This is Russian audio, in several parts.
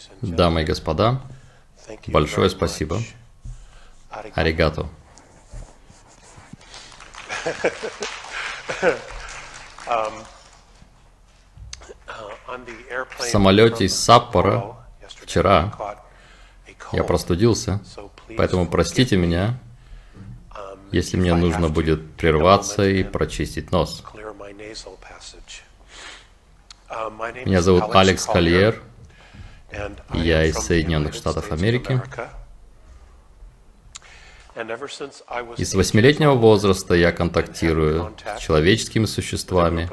Дамы и господа, большое спасибо. Аригато. В самолете из Саппоро вчера я простудился, поэтому простите меня, если мне нужно будет прерваться и прочистить нос. Меня зовут Алекс Кольер, я из Соединенных Штатов Америки. И с 8-летнего возраста я контактирую с человеческими существами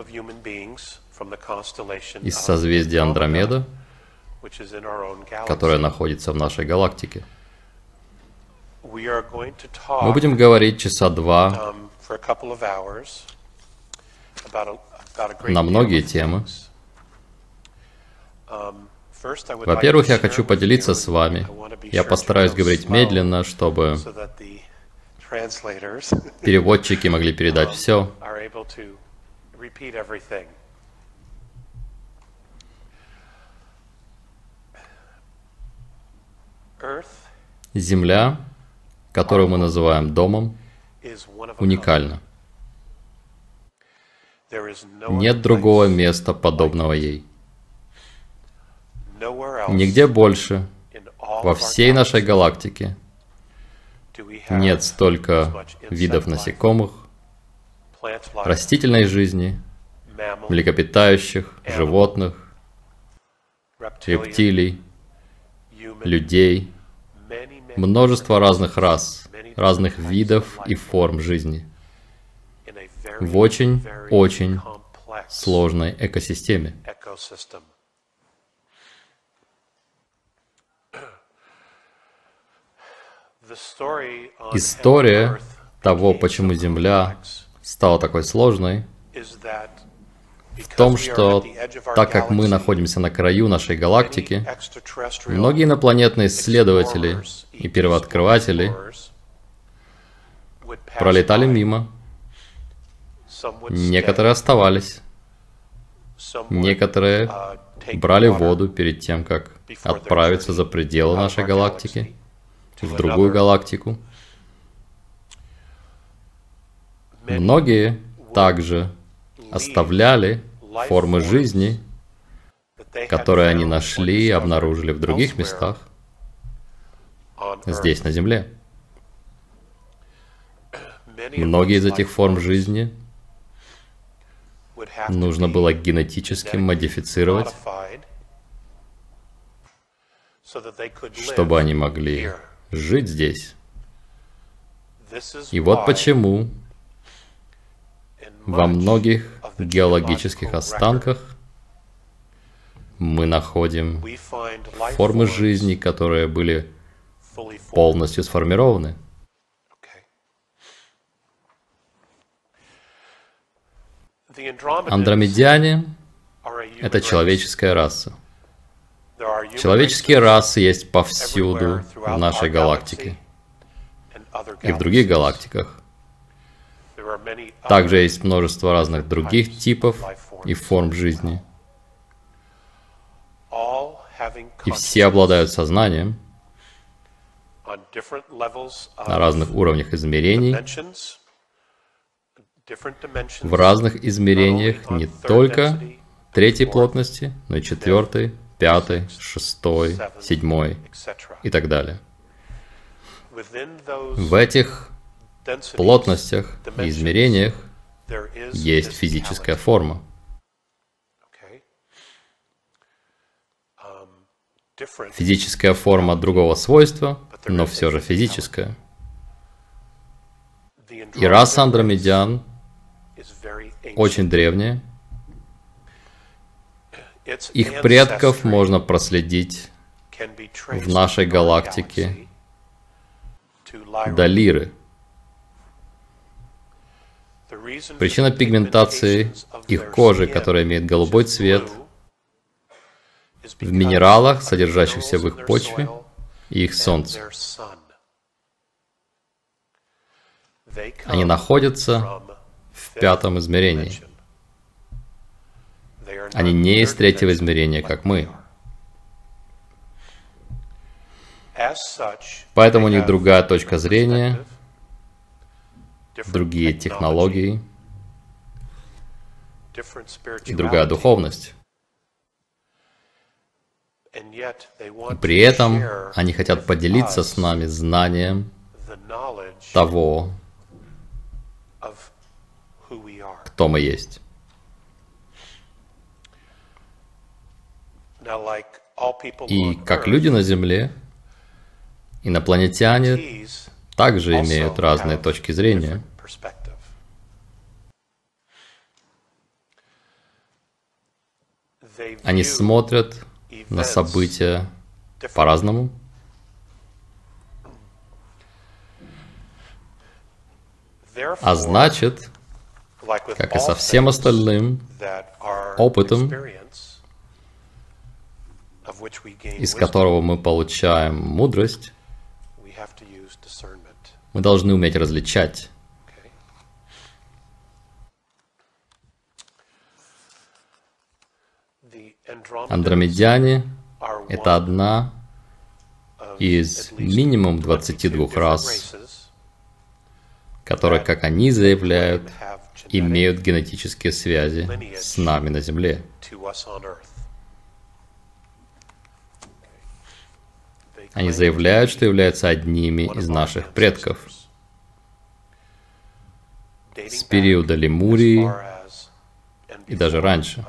из созвездия Андромеда, которое находится в нашей галактике. Мы будем говорить часа два на многие темы. Во-первых, я хочу поделиться с вами. Я постараюсь говорить медленно, чтобы переводчики могли передать все. Земля, которую мы называем домом, уникальна. Нет другого места, подобного ей. Нигде больше, во всей нашей галактике, нет столько видов насекомых, растительной жизни, млекопитающих, животных, рептилий, людей, множество разных рас, разных видов и форм жизни в очень сложной экосистеме. История того, почему Земля стала такой сложной, в том, что так как мы находимся на краю нашей галактики, многие инопланетные исследователи и первооткрыватели пролетали мимо, некоторые оставались, некоторые брали воду перед тем, как отправиться за пределы нашей галактики, в другую галактику. Многие также оставляли формы жизни, которые они нашли и обнаружили в других местах, здесь, на Земле. Многие из этих форм жизни нужно было генетически модифицировать, чтобы они могли жить здесь. И вот почему во многих геологических останках мы находим формы жизни, которые были полностью сформированы. Андромедяне — это человеческая раса. Человеческие расы есть повсюду в нашей галактике и в других галактиках. Также есть множество разных других типов и форм жизни. И все обладают сознанием на разных уровнях измерений, в разных измерениях не только третьей плотности, но и четвертой, пятой, шестой, седьмой и так далее. В этих плотностях и измерениях есть физическая форма. Физическая форма другого свойства, но все же физическая. И раса андромедян очень древняя. Их предков можно проследить в нашей галактике до Лиры. Причина пигментации их кожи, которая имеет голубой цвет, в минералах, содержащихся в их почве, и их солнце. Они находятся в пятом измерении. Они не из третьего измерения, как мы. Поэтому у них другая точка зрения, другие технологии и другая духовность. И при этом они хотят поделиться с нами знанием того, кто мы есть. И как люди на Земле, инопланетяне также имеют разные точки зрения. Они смотрят на события по-разному. А значит, как и со всем остальным опытом, из которого мы получаем мудрость, мы должны уметь различать. Андромедяне — это одна из минимум 22 рас, которые, как они заявляют, имеют генетические связи с нами на Земле. Они заявляют, что являются одними из наших предков с периода Лемурии и даже раньше,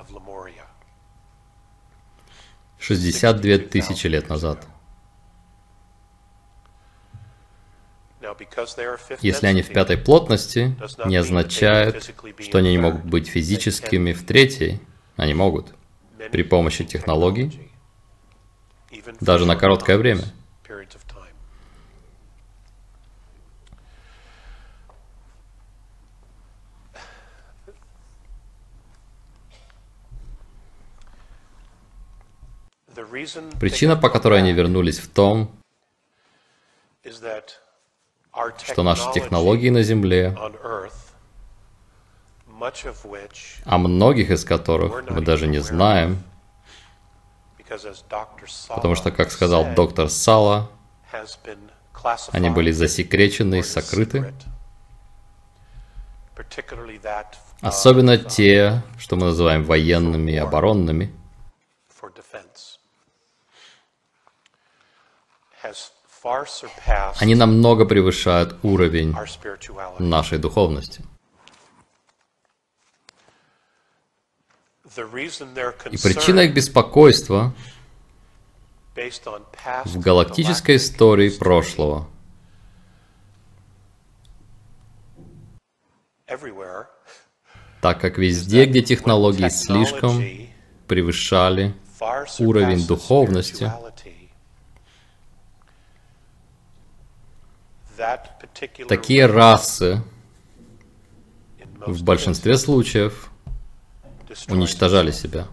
62 тысячи лет назад. Если они в пятой плотности, не означает, что они не могут быть физическими в третьей. Они могут при помощи технологий, даже на короткое время. Причина, по которой они вернулись, в том, что наши технологии на Земле, о многих из которых мы даже не знаем, потому что, как сказал доктор Сала, они были засекречены и сокрыты. Особенно те, что мы называем военными и оборонными. Они намного превышают уровень нашей духовности. И причина их беспокойства в галактической истории прошлого. Так как везде, где технологии слишком превышали уровень духовности, такие расы в большинстве случаев уничтожали себя.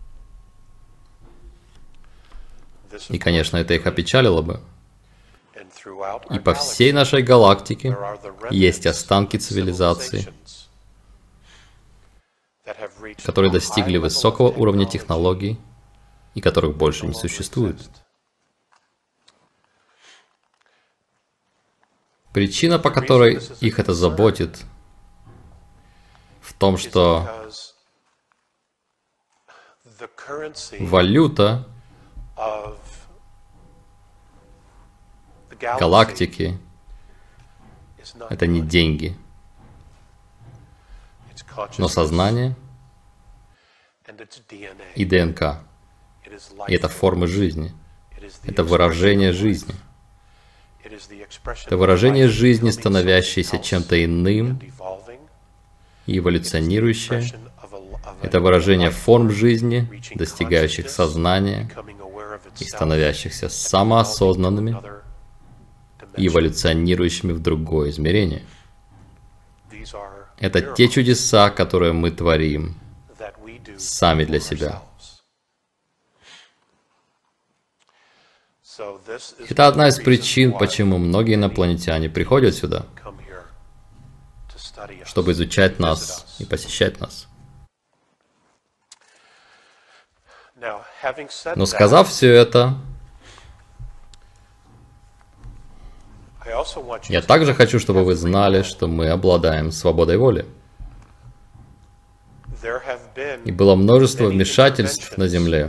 И, конечно, это их опечалило бы. И по всей нашей галактике есть останки цивилизаций, которые достигли высокого уровня технологий и которых больше не существует. Причина, по которой их это заботит, в том, что валюта галактики — это не деньги, но сознание и ДНК. И это формы жизни, это выражение жизни. Это выражение жизни, становящееся чем-то иным и эволюционирующее. Это выражение форм жизни, достигающих сознания и становящихся самоосознанными и эволюционирующими в другое измерение. Это те чудеса, которые мы творим сами для себя. Это одна из причин, почему многие инопланетяне приходят сюда, чтобы изучать нас и посещать нас. Но сказав все это, Я также хочу, чтобы вы знали, что мы обладаем свободой воли. И было множество вмешательств на Земле,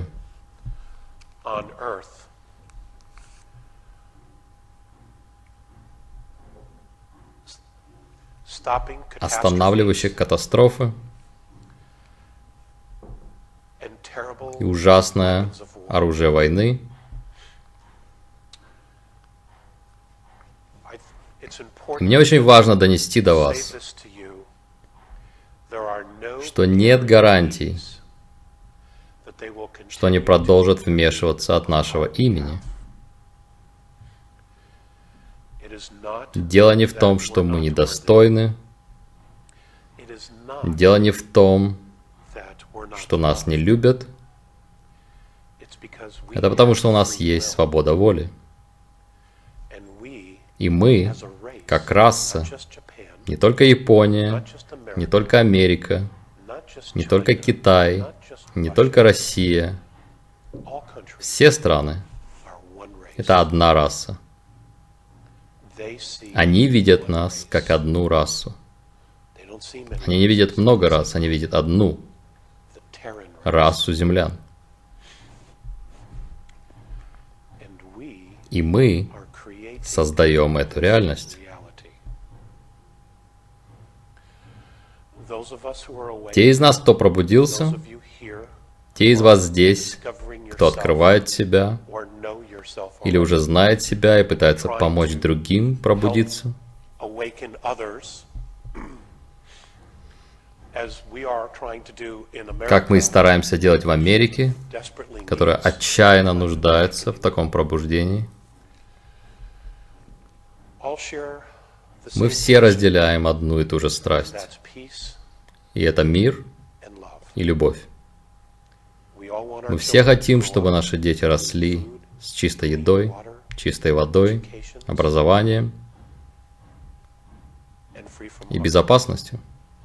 останавливающих катастрофы и ужасное оружие войны. И мне очень важно донести до вас, что нет гарантий, что они продолжат вмешиваться от нашего имени. Дело не в том, что мы недостойны. Дело не в том, что нас не любят. Это потому, что у нас есть свобода воли. И мы, как раса, не только Япония, не только Америка, не только Китай, не только Россия, все страны — это одна раса. Они видят нас как одну расу. Они не видят много рас, они видят одну расу землян. И мы создаем эту реальность. Те из нас, кто пробудился, те из вас здесь, кто открывает себя, или уже знает себя и пытается помочь другим пробудиться, как мы и стараемся делать в Америке, которая отчаянно нуждается в таком пробуждении. Мы все разделяем одну и ту же страсть. И это мир и любовь. Мы все хотим, чтобы наши дети росли с чистой едой, чистой водой, образованием и безопасностью.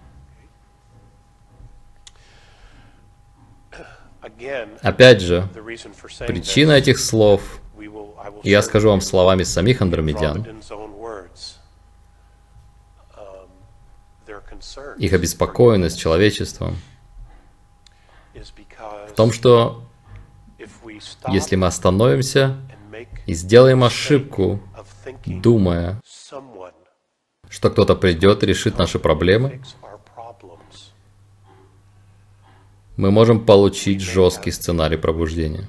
Опять же, причина этих слов, и я скажу вам словами самих андромедян, их обеспокоенность человечеством в том, что если мы остановимся и сделаем ошибку, думая, что кто-то придет и решит наши проблемы, мы можем получить жесткий сценарий пробуждения.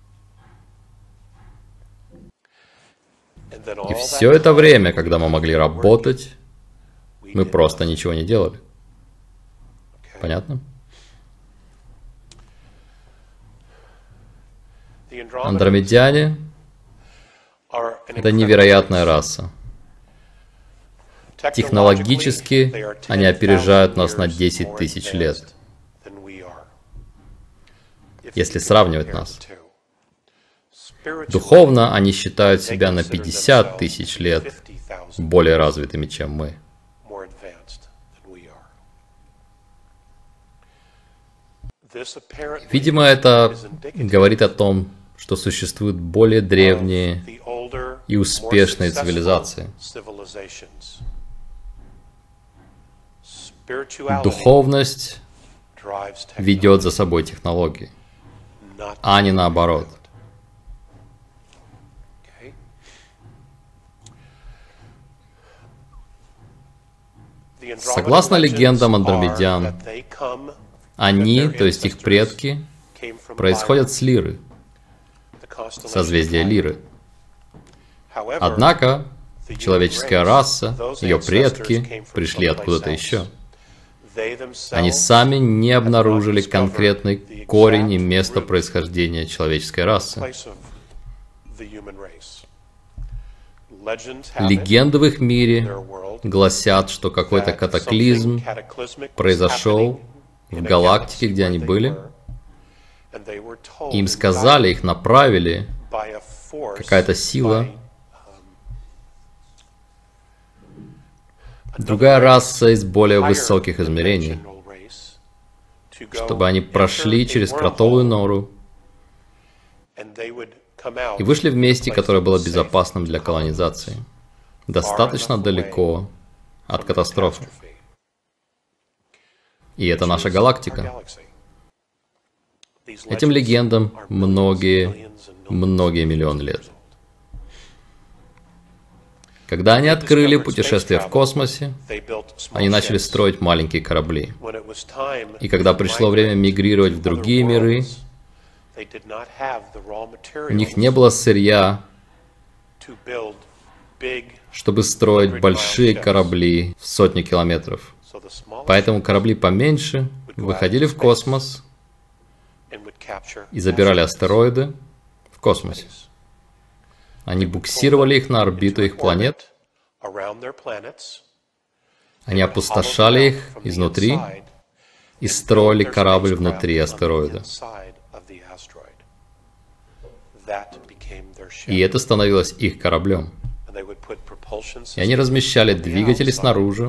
И все это время, когда мы могли работать, мы просто ничего не делали. Понятно? Андромедяне — это невероятная раса. Технологически они опережают нас на 10 тысяч лет, если сравнивать нас. Духовно они считают себя на 50 тысяч лет более развитыми, чем мы. Видимо, это говорит о том, что существуют более древние и успешные цивилизации. Духовность ведет за собой технологии, а не наоборот. Согласно легендам андромедян, они, то есть их предки, происходят с Лиры, созвездия Лиры. Однако, человеческая раса, ее предки, пришли откуда-то еще. Они сами не обнаружили конкретный корень и место происхождения человеческой расы. Легенды в их мире гласят, что какой-то катаклизм произошел в галактике, где они были. Им сказали, их направили, какая-то сила. Другая раса из более высоких измерений, чтобы они прошли через кротовую нору и вышли в месте, которое было безопасным для колонизации. достаточно далеко от катастрофы. И это наша галактика. Этим легендам многие миллионы лет. Когда они открыли путешествие в космосе, они начали строить маленькие корабли. И когда пришло время мигрировать в другие миры, у них не было сырья, чтобы строить большие корабли в сотни километров. Поэтому корабли поменьше выходили в космос и забирали астероиды в космосе. Они буксировали их на орбиту их планет, они опустошали их изнутри и строили корабль внутри астероида. И это становилось их кораблем. И они размещали двигатели снаружи,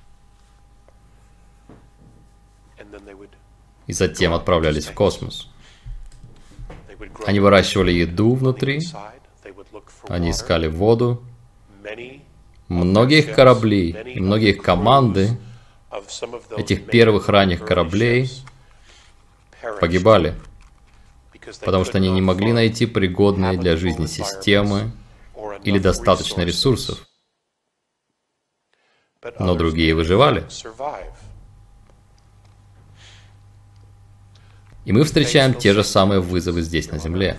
и затем отправлялись в космос. Они выращивали еду внутри, они искали воду. Многие их корабли и многие их команды этих первых ранних кораблей погибали, потому что они не могли найти пригодные для жизни системы или достаточно ресурсов. Но другие выживали. И мы встречаем те же самые вызовы здесь, на Земле.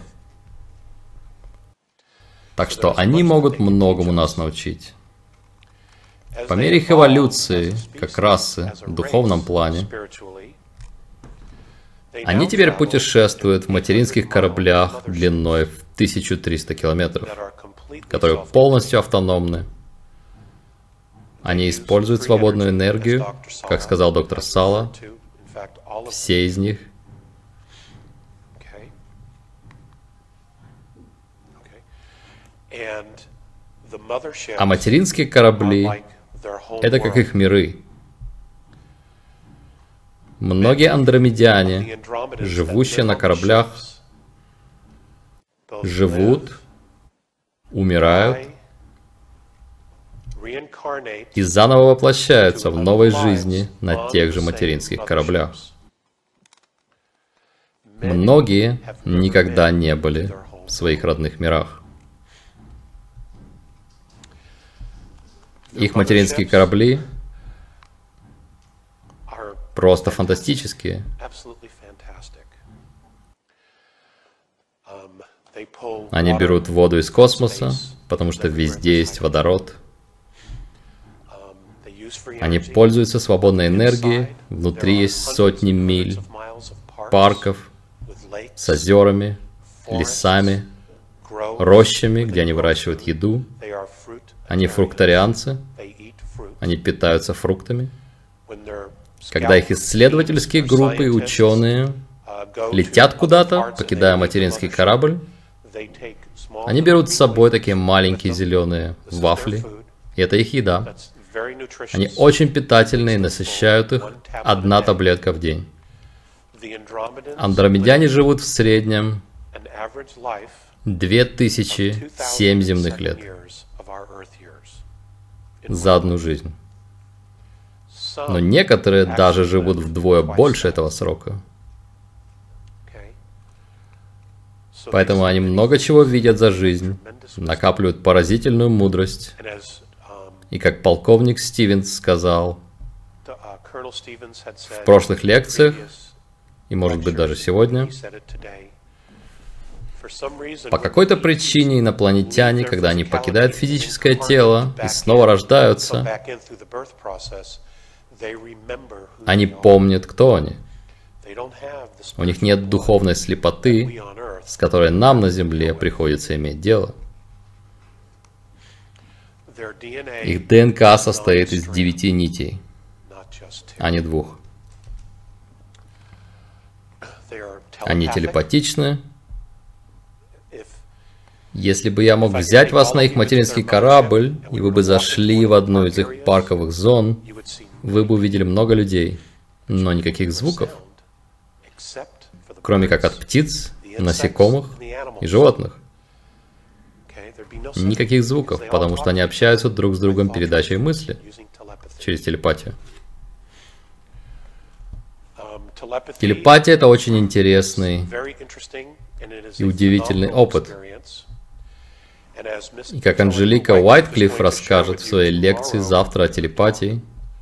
Так что они могут многому нас научить. По мере их эволюции, как расы, в духовном плане, они теперь путешествуют в материнских кораблях длиной в 1300 километров, которые полностью автономны. Они используют свободную энергию, как сказал доктор Сала, все из них. А материнские корабли — это как их миры. Многие андромедяне, живущие на кораблях, живут, умирают и заново воплощаются в новой жизни на тех же материнских кораблях. Многие никогда не были в своих родных мирах. Их материнские корабли просто фантастические. Они берут воду из космоса, потому что везде есть водород. Они пользуются свободной энергией. Внутри есть сотни миль парков с озерами, лесами, рощами, где они выращивают еду. Они фрукторианцы, они питаются фруктами. Когда их исследовательские группы и ученые летят куда-то, покидая материнский корабль, они берут с собой такие маленькие зеленые вафли, и это их еда. Они очень питательные, насыщают их 1 таблетка в день. Андромедяне живут в среднем 2007 земных лет за одну жизнь. Но некоторые даже живут вдвое больше этого срока. Поэтому они много чего видят за жизнь, накапливают поразительную мудрость. И как полковник Стивенс сказал в прошлых лекциях, и может быть даже сегодня, по какой-то причине инопланетяне, когда они покидают физическое тело и снова рождаются, они помнят, кто они. У них нет духовной слепоты, с которой нам на Земле приходится иметь дело. Их ДНК состоит из 9 нитей, а не 2. Они телепатичны. Если бы я мог взять вас на их материнский корабль, и вы бы зашли в одну из их парковых зон, вы бы увидели много людей, но никаких звуков, кроме как от птиц, насекомых и животных. Никаких звуков, потому что они общаются друг с другом передачей мысли через телепатию. Телепатия — это очень интересный и удивительный опыт. И как Анжелика Уайтклифф расскажет в своей лекции завтра о телепатии,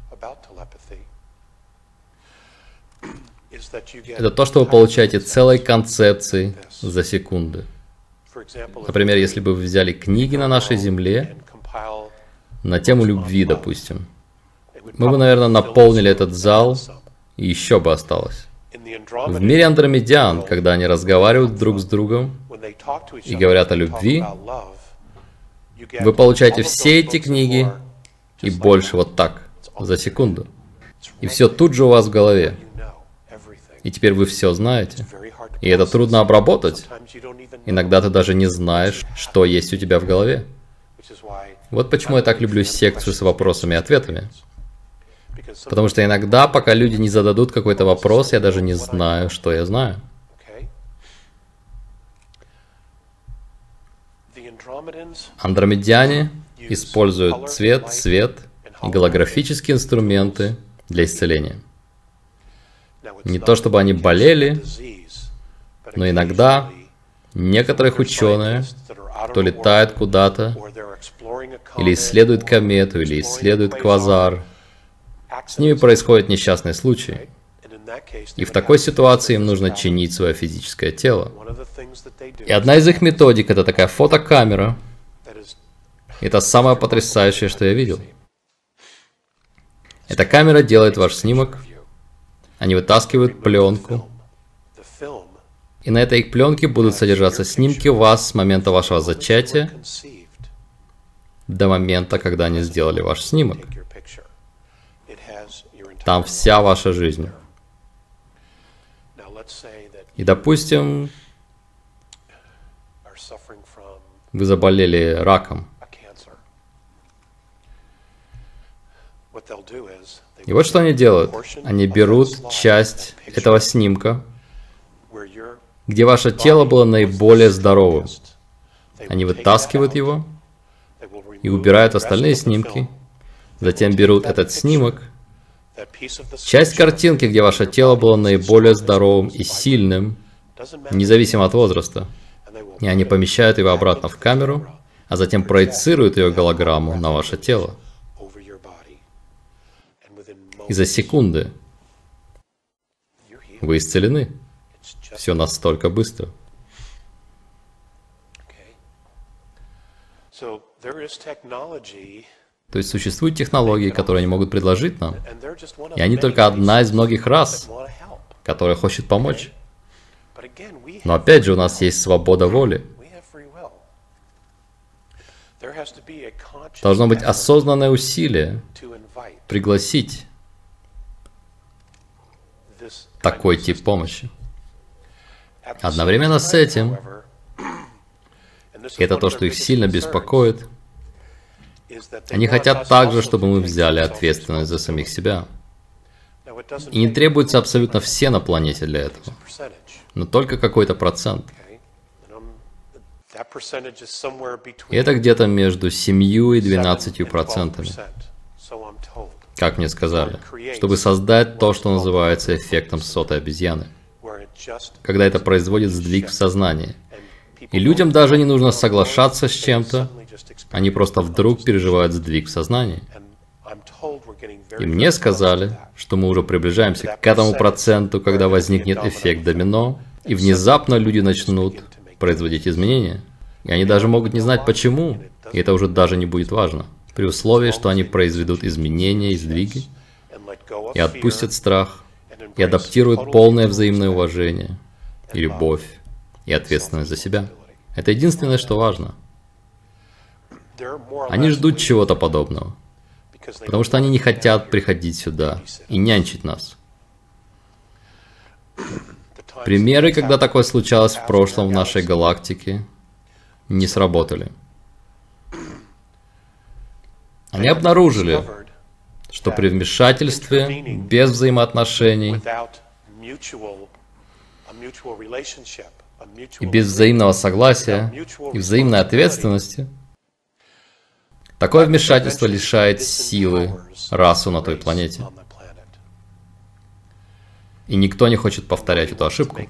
это то, что вы получаете целые концепции за секунды. Например, если бы вы взяли книги на нашей Земле на тему любви, допустим, мы бы, наверное, наполнили этот зал, и еще бы осталось. В мире андромедян, когда они разговаривают друг с другом и говорят о любви, вы получаете все эти книги и больше вот так, за секунду. И все тут же у вас в голове. И теперь вы все знаете. И это трудно обработать. Иногда ты даже не знаешь, что есть у тебя в голове. Вот почему я так люблю секцию с вопросами и ответами. Потому что иногда, пока люди не зададут какой-то вопрос, я даже не знаю, что я знаю. Андромедяне используют цвет, свет и голографические инструменты для исцеления. Не то чтобы они болели, но иногда некоторых ученые, кто летает куда-то, или исследует комету, или исследует квазар, с ними происходит несчастный случай. И в такой ситуации им нужно чинить свое физическое тело. И одна из их методик — это такая фотокамера. Это самое потрясающее, что я видел. Эта камера делает ваш снимок. Они вытаскивают пленку. И на этой пленке будут содержаться снимки вас с момента вашего зачатия до момента, когда они сделали ваш снимок. Там вся ваша жизнь. И, допустим, вы заболели раком. И вот что они делают. Они берут часть этого снимка, где ваше тело было наиболее здоровым. Они вытаскивают его и убирают остальные снимки. Затем берут этот снимок, часть картинки, где ваше тело было наиболее здоровым и сильным, независимо от возраста. И они помещают его обратно в камеру, а затем проецируют ее голограмму на ваше тело. И за секунды вы исцелены. Все настолько быстро. То есть существуют технологии, которые они могут предложить нам, и они только одна из многих рас, которая хочет помочь. Но опять же, у нас есть свобода воли. Должно быть осознанное усилие пригласить такой тип помощи. Одновременно с этим, и это то, что их сильно беспокоит, они хотят также, чтобы мы взяли ответственность за самих себя. И не требуется абсолютно все на планете для этого, но только какой-то процент. И это где-то между 7 и 12%, как мне сказали, чтобы создать то, что называется эффектом сотой обезьяны, когда это производит сдвиг в сознании. И людям даже не нужно соглашаться с чем-то, они просто вдруг переживают сдвиг в сознании. И мне сказали, что мы уже приближаемся к этому проценту, когда возникнет эффект домино, и внезапно люди начнут производить изменения. И они даже могут не знать почему, и это уже даже не будет важно, при условии, что они произведут изменения и сдвиги, и отпустят страх, и адаптируют полное взаимное уважение, и любовь, и ответственность за себя. Это единственное, что важно. Они ждут чего-то подобного, потому что они не хотят приходить сюда и нянчить нас. Примеры, когда такое случалось в прошлом в нашей галактике, не сработали. Они обнаружили, что при вмешательстве без взаимоотношений и без взаимного согласия и взаимной ответственности Такое вмешательство лишает силы расу на той планете. И никто не хочет повторять эту ошибку.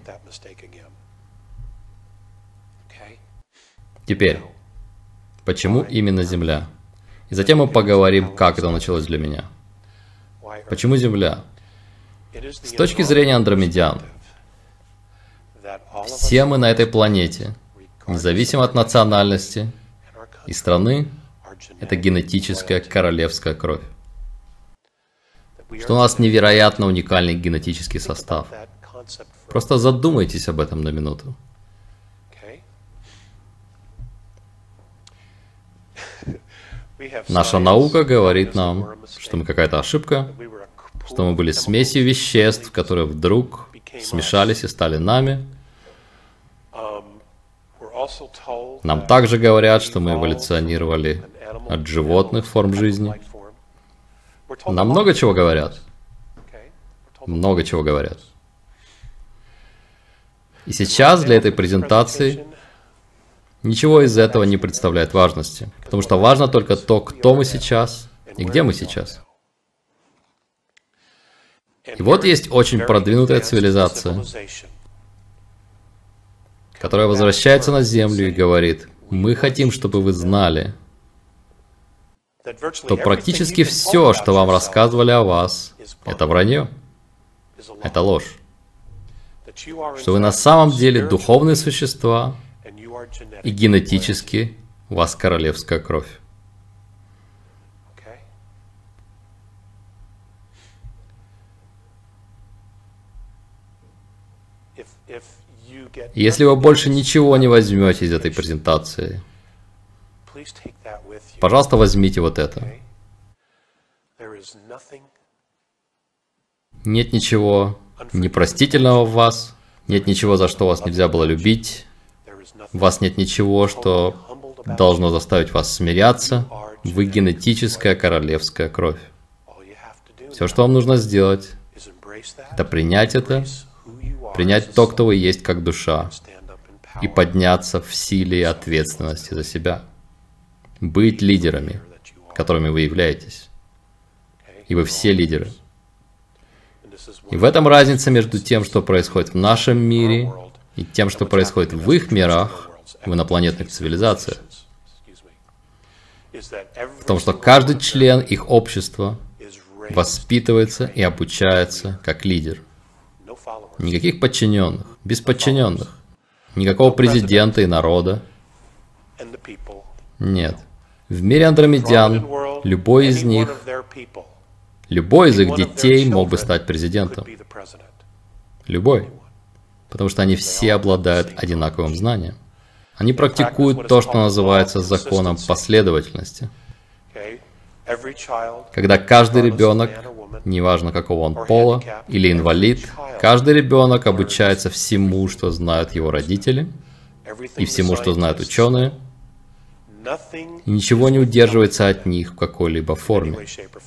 Теперь, почему именно Земля? И затем мы поговорим, как это началось для меня. Почему Земля? С точки зрения андромедян, все мы на этой планете, независимо от национальности и страны, это генетическая королевская кровь. Что у нас невероятно уникальный генетический состав. Просто задумайтесь об этом на минуту. Наша наука говорит нам, что мы какая-то ошибка, что мы были смесью веществ, которые вдруг смешались и стали нами. Нам также говорят, что мы эволюционировали от животных форм жизни. Нам много чего говорят. Много чего говорят. И сейчас для этой презентации ничего из этого не представляет важности, потому что важно только то, кто мы сейчас и где мы сейчас. И вот есть очень продвинутая цивилизация, которая возвращается на Землю и говорит: мы хотим, чтобы вы знали, что практически все, что вам рассказывали о вас, это вранье, это ложь. Что вы на самом деле духовные существа, и генетически у вас королевская кровь. Если вы больше ничего не возьмете из этой презентации, пожалуйста, возьмите вот это. Нет ничего непростительного в вас, нет ничего, за что вас нельзя было любить, в вас нет ничего, что должно заставить вас смиряться. Вы генетическая королевская кровь. Все, что вам нужно сделать, это принять это, принять то, кто вы есть как душа, и подняться в силе и ответственности за себя. Быть лидерами, которыми вы являетесь. И вы все лидеры. И в этом разница между тем, что происходит в нашем мире, и тем, что происходит в их мирах, в инопланетных цивилизациях. В том, что каждый член их общества воспитывается и обучается как лидер. Никаких подчиненных, без подчиненных. Никакого президента и народа. Нет. В мире андромедян любой из них, любой из их детей мог бы стать президентом. Любой. Потому что они все обладают одинаковым знанием. Они практикуют то, что называется законом последовательности. Когда каждый ребенок, неважно какого он пола, или инвалид, каждый ребенок обучается всему, что знают его родители, и всему, что знают ученые, и ничего не удерживается от них в какой-либо форме.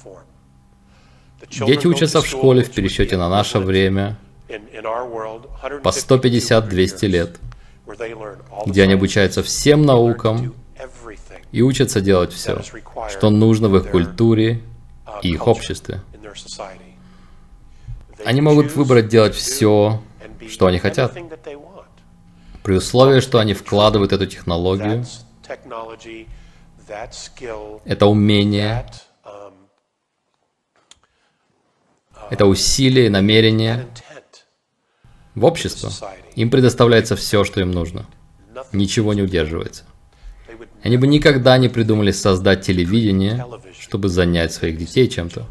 Дети учатся в школе в пересчете на наше время по 150-200 лет, где они обучаются всем наукам и учатся делать все, что нужно в их культуре и их обществе. Они могут выбрать делать все, что они хотят, при условии, что они вкладывают эту технологию, это умение, это усилие, намерение в общество. Им предоставляется все, что им нужно. Ничего не удерживается. Они бы никогда не придумали создать телевидение, чтобы занять своих детей чем-то.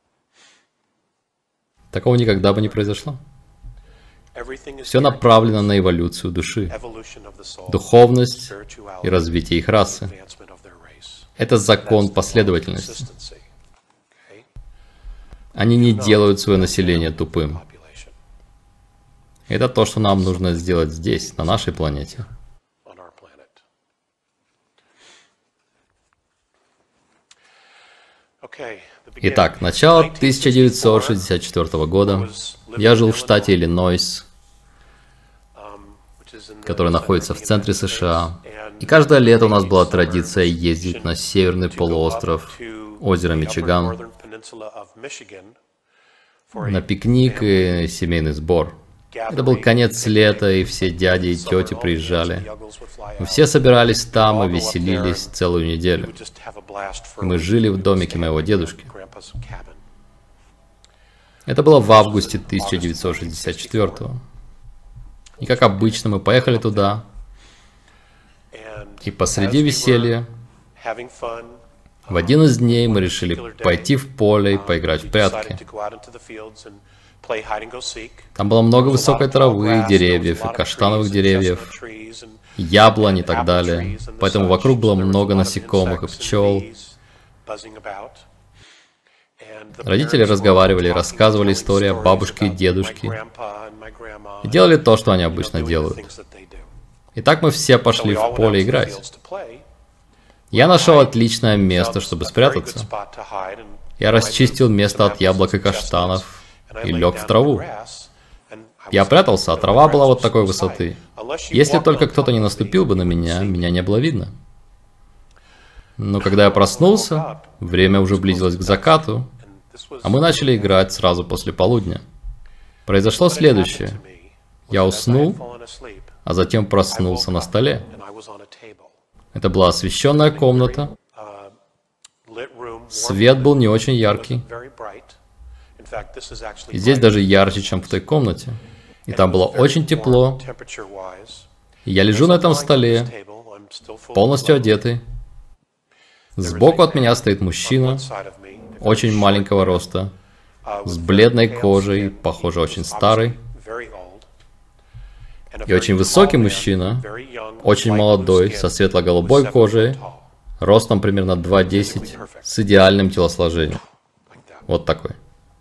Такого никогда бы не произошло. Все направлено на эволюцию души, духовность и развитие их расы. Это закон последовательности. Они не делают свое население тупым. Это то, что нам нужно сделать здесь, на нашей планете. Итак, начало 1964 года. Я жил в штате Иллинойс, который находится в центре США. И каждое лето у нас была традиция ездить на северный полуостров озера Мичиган на пикник и семейный сбор. Это был конец лета, и все дяди и тети приезжали. Мы все собирались там и веселились целую неделю. Мы жили в домике моего дедушки. Это было в августе 1964-го. И как обычно, мы поехали туда, и посреди веселья, в один из дней мы решили пойти в поле и поиграть в прятки. Там было много высокой травы, деревьев, и каштановых деревьев, яблонь и так далее. Поэтому вокруг было много насекомых и пчел. Родители разговаривали, рассказывали истории о бабушке и дедушке. И делали то, что они обычно делают. Итак, мы все пошли в поле играть. Я нашел отличное место, чтобы спрятаться. Я расчистил место от яблок и каштанов и лег в траву. Я прятался, а трава была вот такой высоты. Если только кто-то не наступил бы на меня, меня не было видно. Но когда я проснулся, время уже близилось к закату, а мы начали играть сразу после полудня. Произошло следующее. Я уснул, а затем проснулся на столе. Это была освещенная комната. Свет был не очень яркий. И здесь даже ярче, чем в той комнате. И там было очень тепло. И я лежу на этом столе, полностью одетый. Сбоку от меня стоит мужчина, очень маленького роста, с бледной кожей, похоже, очень старый. И очень высокий мужчина, очень молодой, со светло-голубой кожей, ростом примерно 2,10, с идеальным телосложением. Вот такой.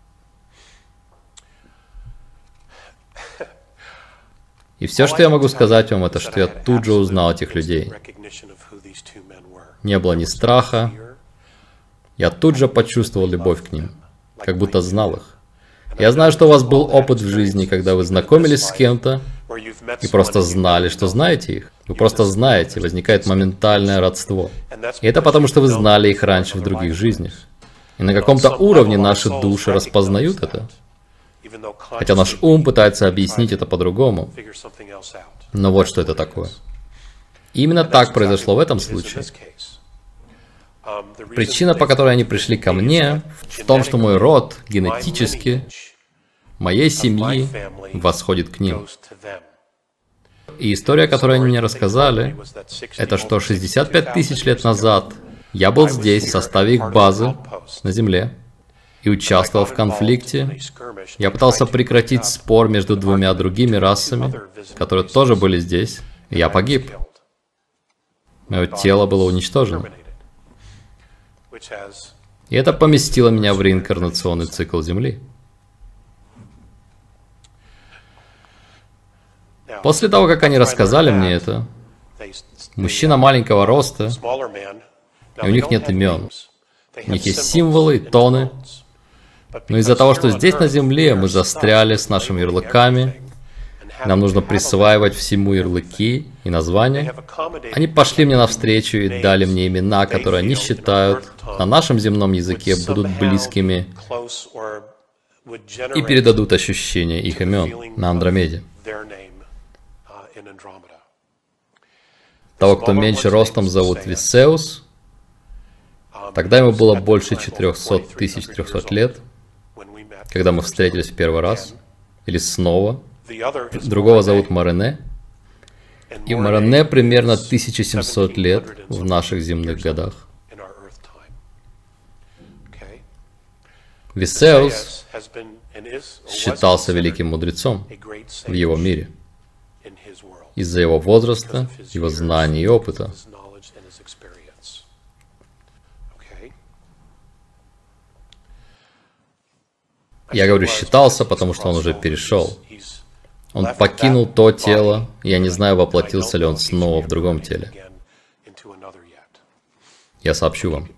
И все, что я могу сказать вам, это что я тут же узнал этих людей. Не было ни страха. Я тут же почувствовал любовь к ним, как будто знал их. Я знаю, что у вас был опыт в жизни, когда вы знакомились с кем-то и просто знали, что знаете их. Вы просто знаете, возникает моментальное родство. И это потому, что вы знали их раньше в других жизнях. И на каком-то уровне наши души распознают это. Хотя наш ум пытается объяснить это по-другому. Но вот что это такое. И именно так произошло в этом случае. Причина, по которой они пришли ко мне, в том, что мой род генетически, моей семьи, восходит к ним. И история, которую они мне рассказали, это что 65 тысяч лет назад я был здесь в составе их базы на Земле и участвовал в конфликте. Я пытался прекратить спор между двумя другими расами, которые тоже были здесь, и я погиб. Мое тело было уничтожено. И это поместило меня в реинкарнационный цикл Земли. После того, как они рассказали мне это, мужчина маленького роста, и у них нет имен. У них есть символы и тоны. Но из-за того, что здесь на Земле мы застряли с нашими ярлыками, нам нужно присваивать всему ярлыки и названия, они пошли мне навстречу и дали мне имена, которые они считают на нашем земном языке будут близкими и передадут ощущение их имен на Андромеде. Того, кто меньше ростом, зовут Висеус. Тогда ему было больше 400 300 лет, когда мы встретились в первый раз, или снова. Другого зовут Морене. И Морене примерно 1700 лет в наших земных годах. Висеус считался великим мудрецом в его мире из-за его возраста, его знаний и опыта. Я говорю «считался», потому что он уже перешел. Он покинул то тело, и я не знаю, воплотился ли он снова в другом теле. Я сообщу вам.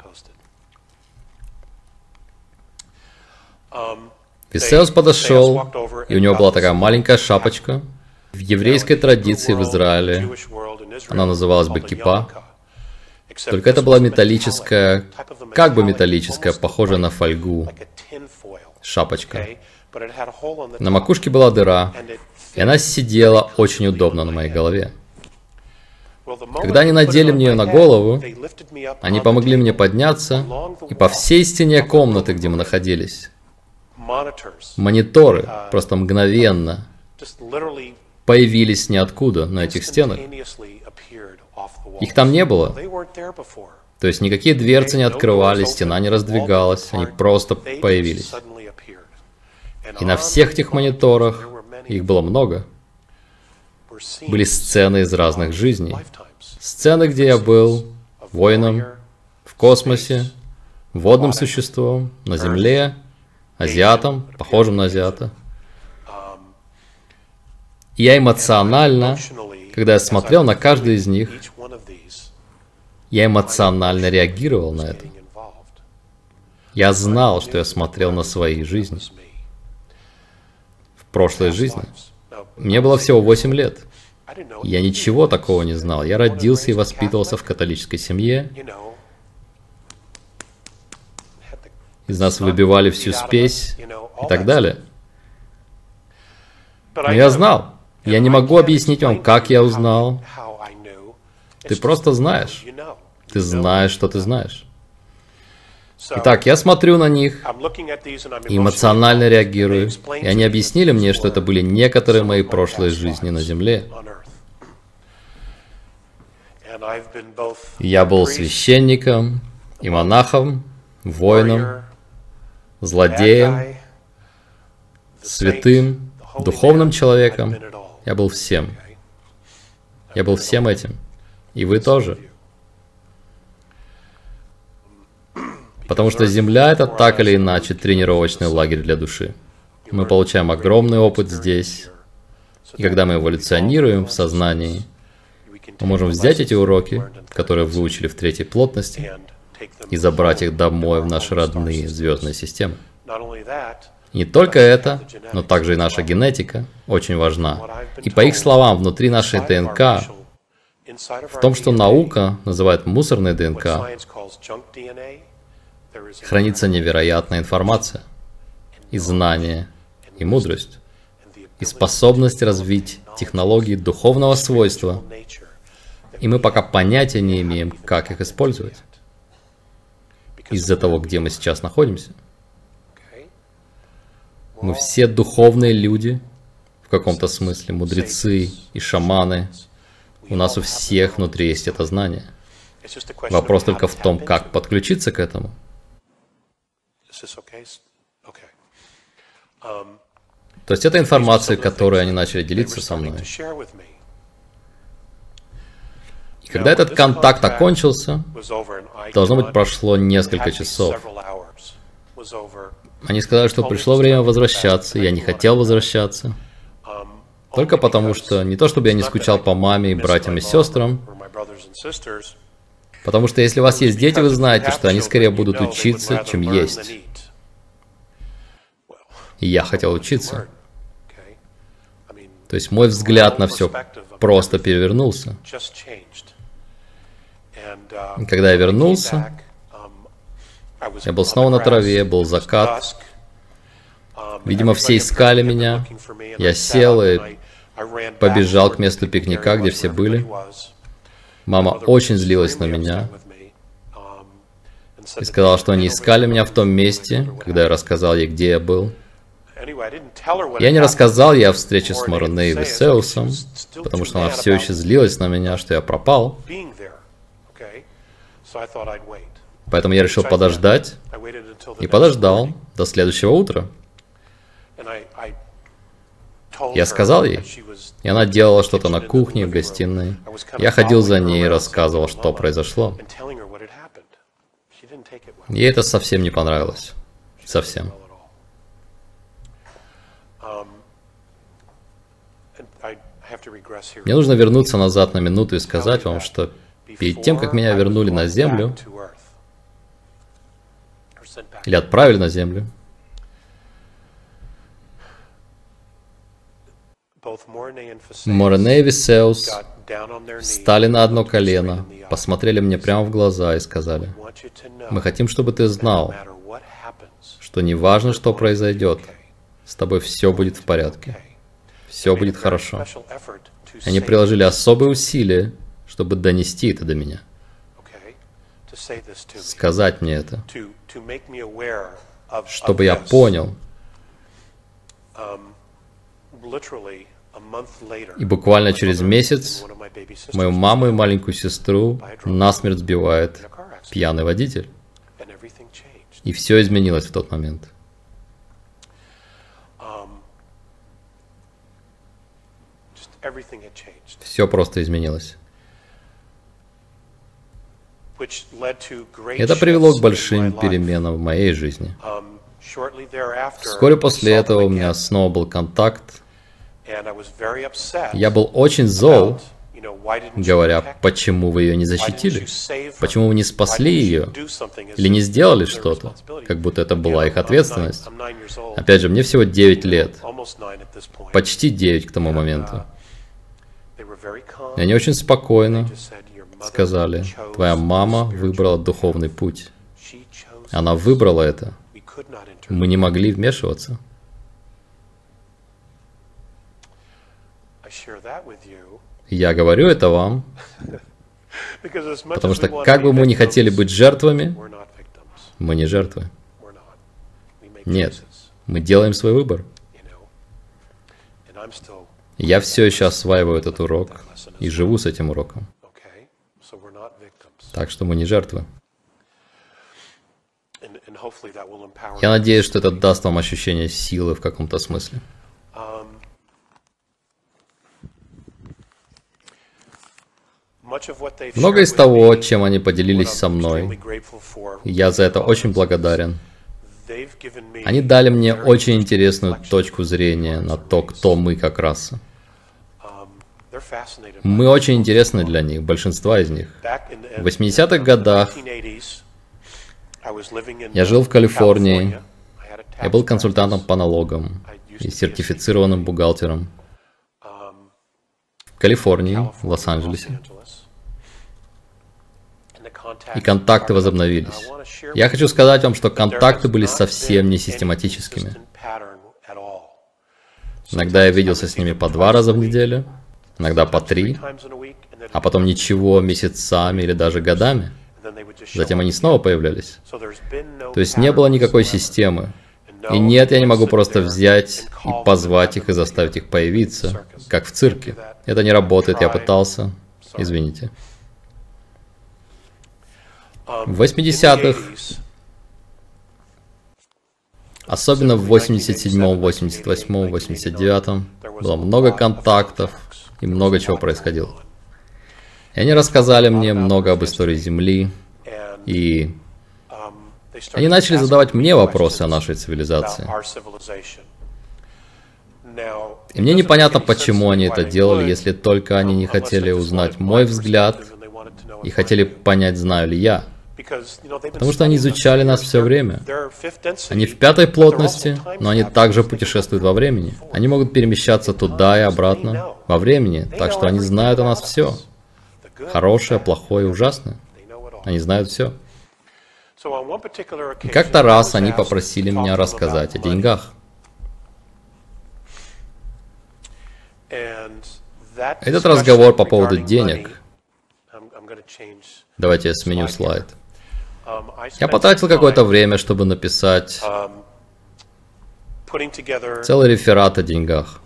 Висеус подошел, и у него была такая маленькая шапочка, В еврейской традиции в Израиле она называлась бы кипа, только это была металлическая, как бы металлическая, похожая на фольгу, шапочка. На макушке была дыра, и она сидела очень удобно на моей голове. Когда они надели мне ее на голову, они помогли мне подняться, и по всей стене комнаты, где мы находились, мониторы просто мгновенно появились ниоткуда на этих стенах. Их там не было. То есть никакие дверцы не открывались, стена не раздвигалась, они просто появились. И на всех этих мониторах, их было много, были сцены из разных жизней. Сцены, где я был воином, в космосе, водным существом, на Земле, азиатом, похожим на азиата. И я эмоционально, когда я смотрел на каждый из них, я эмоционально реагировал на это. Я знал, что я смотрел на свои жизни. В прошлой жизни. Мне было всего 8 лет. Я ничего такого не знал. Я родился и воспитывался в католической семье. Из нас выбивали всю спесь и так далее. Но я знал. Я не могу объяснить вам, как я узнал. Ты просто знаешь. Ты знаешь, что ты знаешь. Итак, я смотрю на них и эмоционально реагирую. И они объяснили мне, что это были некоторые мои прошлые жизни на Земле. Я был священником и монахом, воином, злодеем, святым, духовным человеком. Я был всем. Я был всем этим. И вы тоже. Потому что Земля — это так или иначе тренировочный лагерь для души. Мы получаем огромный опыт здесь. И когда мы эволюционируем в сознании, мы можем взять эти уроки, которые выучили в третьей плотности, и забрать их домой в наши родные звездные системы. И не только это, но также и наша генетика очень важна. И по их словам, внутри нашей ДНК, в том, что наука называет мусорной ДНК, хранится невероятная информация, и знание, и мудрость, и способность развить технологии духовного свойства, и мы пока понятия не имеем, как их использовать, из-за того, где мы сейчас находимся. Мы все духовные люди, в каком-то смысле, мудрецы и шаманы. У нас у всех внутри есть это знание. Вопрос только в том, как подключиться к этому. То есть это информация, которой они начали делиться со мной. И когда этот контакт окончился, должно быть, прошло несколько часов. Они сказали, что пришло время возвращаться, я не хотел возвращаться. Только потому, что не то, чтобы я не скучал по маме и братьям и сестрам, потому что если у вас есть дети, вы знаете, что они скорее будут учиться, чем есть. И я хотел учиться. То есть мой взгляд на все просто перевернулся. И когда я вернулся, я был снова на траве, был закат. Видимо, все искали меня. Я сел и побежал к месту пикника, где все были. Мама очень злилась на меня и сказала, что они искали меня в том месте, когда я рассказал ей, где я был. Я не рассказал ей о встрече с Морне и Весеусом, потому что она все еще злилась на меня, что я пропал. Поэтому я решил подождать, и подождал до следующего утра. Я сказал ей, и она делала что-то на кухне, в гостиной. Я ходил за ней и рассказывал, что произошло. Ей это совсем не понравилось. Совсем. Мне нужно вернуться назад на минуту и сказать вам, что перед тем, как меня вернули на Землю, или отправили на Землю, Морене и Висеус встали на одно колено, посмотрели мне прямо в глаза и сказали: мы хотим, чтобы ты знал, что неважно, что произойдет, с тобой все будет в порядке, все будет хорошо. Они приложили особые усилия, чтобы донести это до меня, сказать мне это, чтобы я понял. И буквально через месяц мою маму и маленькую сестру насмерть сбивает пьяный водитель. И все изменилось в тот момент. Все просто изменилось. Это привело к большим переменам в моей жизни. Вскоре после этого у меня снова был контакт. Я был очень зол, говоря: почему вы ее не защитили? Почему вы не спасли ее? Или не сделали что-то? Как будто это была их ответственность. Опять же, мне всего 9 лет. Почти 9 к тому моменту. И они очень спокойно сказали: твоя мама выбрала духовный путь. Она выбрала это. Мы не могли вмешиваться. Я говорю это вам, потому что как бы мы ни хотели быть жертвами, мы не жертвы. Нет, мы делаем свой выбор. Я все еще осваиваю этот урок и живу с этим уроком. Так что мы не жертвы. Я надеюсь, что это даст вам ощущение силы в каком-то смысле. Многое из того, чем они поделились со мной, я за это очень благодарен. Они дали мне очень интересную точку зрения на то, кто мы как раса. Мы очень интересны для них, большинство из них. В 80-х годах я жил в Калифорнии, я был консультантом по налогам и сертифицированным бухгалтером в Калифорнии, в Лос-Анджелесе. И контакты возобновились. Я хочу сказать вам, что контакты были совсем не систематическими. Иногда я виделся с ними по 2 раза в неделю, иногда по 3, а потом ничего месяцами или даже годами. Затем они снова появлялись. То есть не было никакой системы. И нет, я не могу просто взять и позвать их и заставить их появиться, как в цирке. Это не работает, я пытался. Извините. В 80-х, особенно в 87-м, 88-м, 89-м, было много контактов и много чего происходило. И они рассказали мне много об истории Земли, и они начали задавать мне вопросы о нашей цивилизации. И мне непонятно, почему они это делали, если только они не хотели узнать мой взгляд и хотели понять, знаю ли я. Потому что они изучали нас все время. Они в 5-й плотности, но они также путешествуют во времени. Они могут перемещаться туда и обратно во времени, так что они знают о нас все. Хорошее, плохое, ужасное. Они знают все. И как-то раз они попросили меня рассказать о деньгах. Этот разговор по поводу денег. Давайте я сменю слайд. Я потратил какое-то время, чтобы написать целый реферат о деньгах.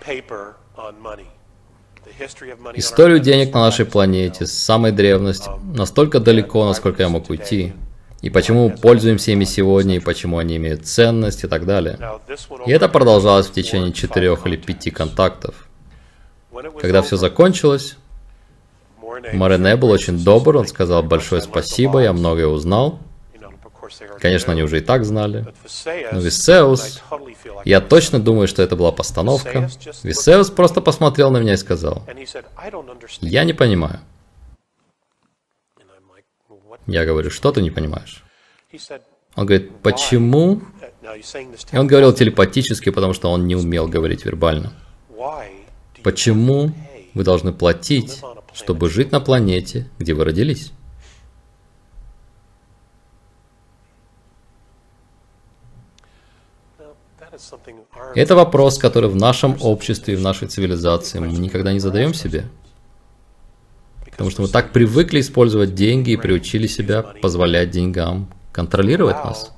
Историю денег на нашей планете с самой древности, настолько далеко, насколько я мог уйти. И почему мы пользуемся ими сегодня, и почему они имеют ценность, и так далее. И это продолжалось в течение 4 или 5 контактов. Когда все закончилось, Морене был очень добр, он сказал большое спасибо, я многое узнал. Конечно, они уже и так знали. Но Висеус, я точно думаю, что это была постановка. Висеус просто посмотрел на меня и сказал: я не понимаю. Я говорю: что ты не понимаешь? Он говорит: почему? И он говорил телепатически, потому что он не умел говорить вербально. Почему вы должны платить, чтобы жить на планете, где вы родились? Это вопрос, который в нашем обществе и в нашей цивилизации мы никогда не задаем себе. Потому что мы так привыкли использовать деньги и приучили себя позволять деньгам контролировать нас.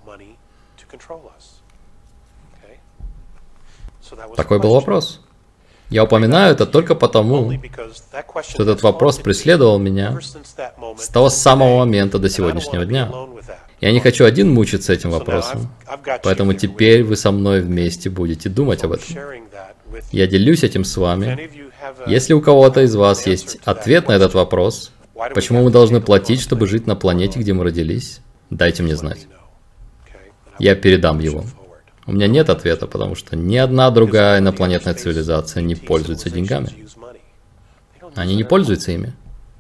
Такой был вопрос. Я упоминаю это только потому, что этот вопрос преследовал меня с того самого момента до сегодняшнего дня. Я не хочу один мучиться этим вопросом, поэтому теперь вы со мной вместе будете думать об этом. Я делюсь этим с вами. Если у кого-то из вас есть ответ на этот вопрос, почему мы должны платить, чтобы жить на планете, где мы родились, дайте мне знать. Я передам его. У меня нет ответа, потому что ни одна другая инопланетная цивилизация не пользуется деньгами. Они не пользуются ими.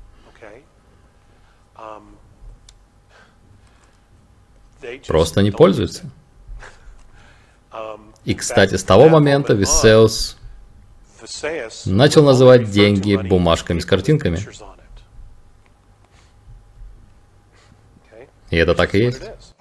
Просто не пользуются. И, кстати, с того момента Висеус начал называть деньги бумажками с картинками. И это так и есть.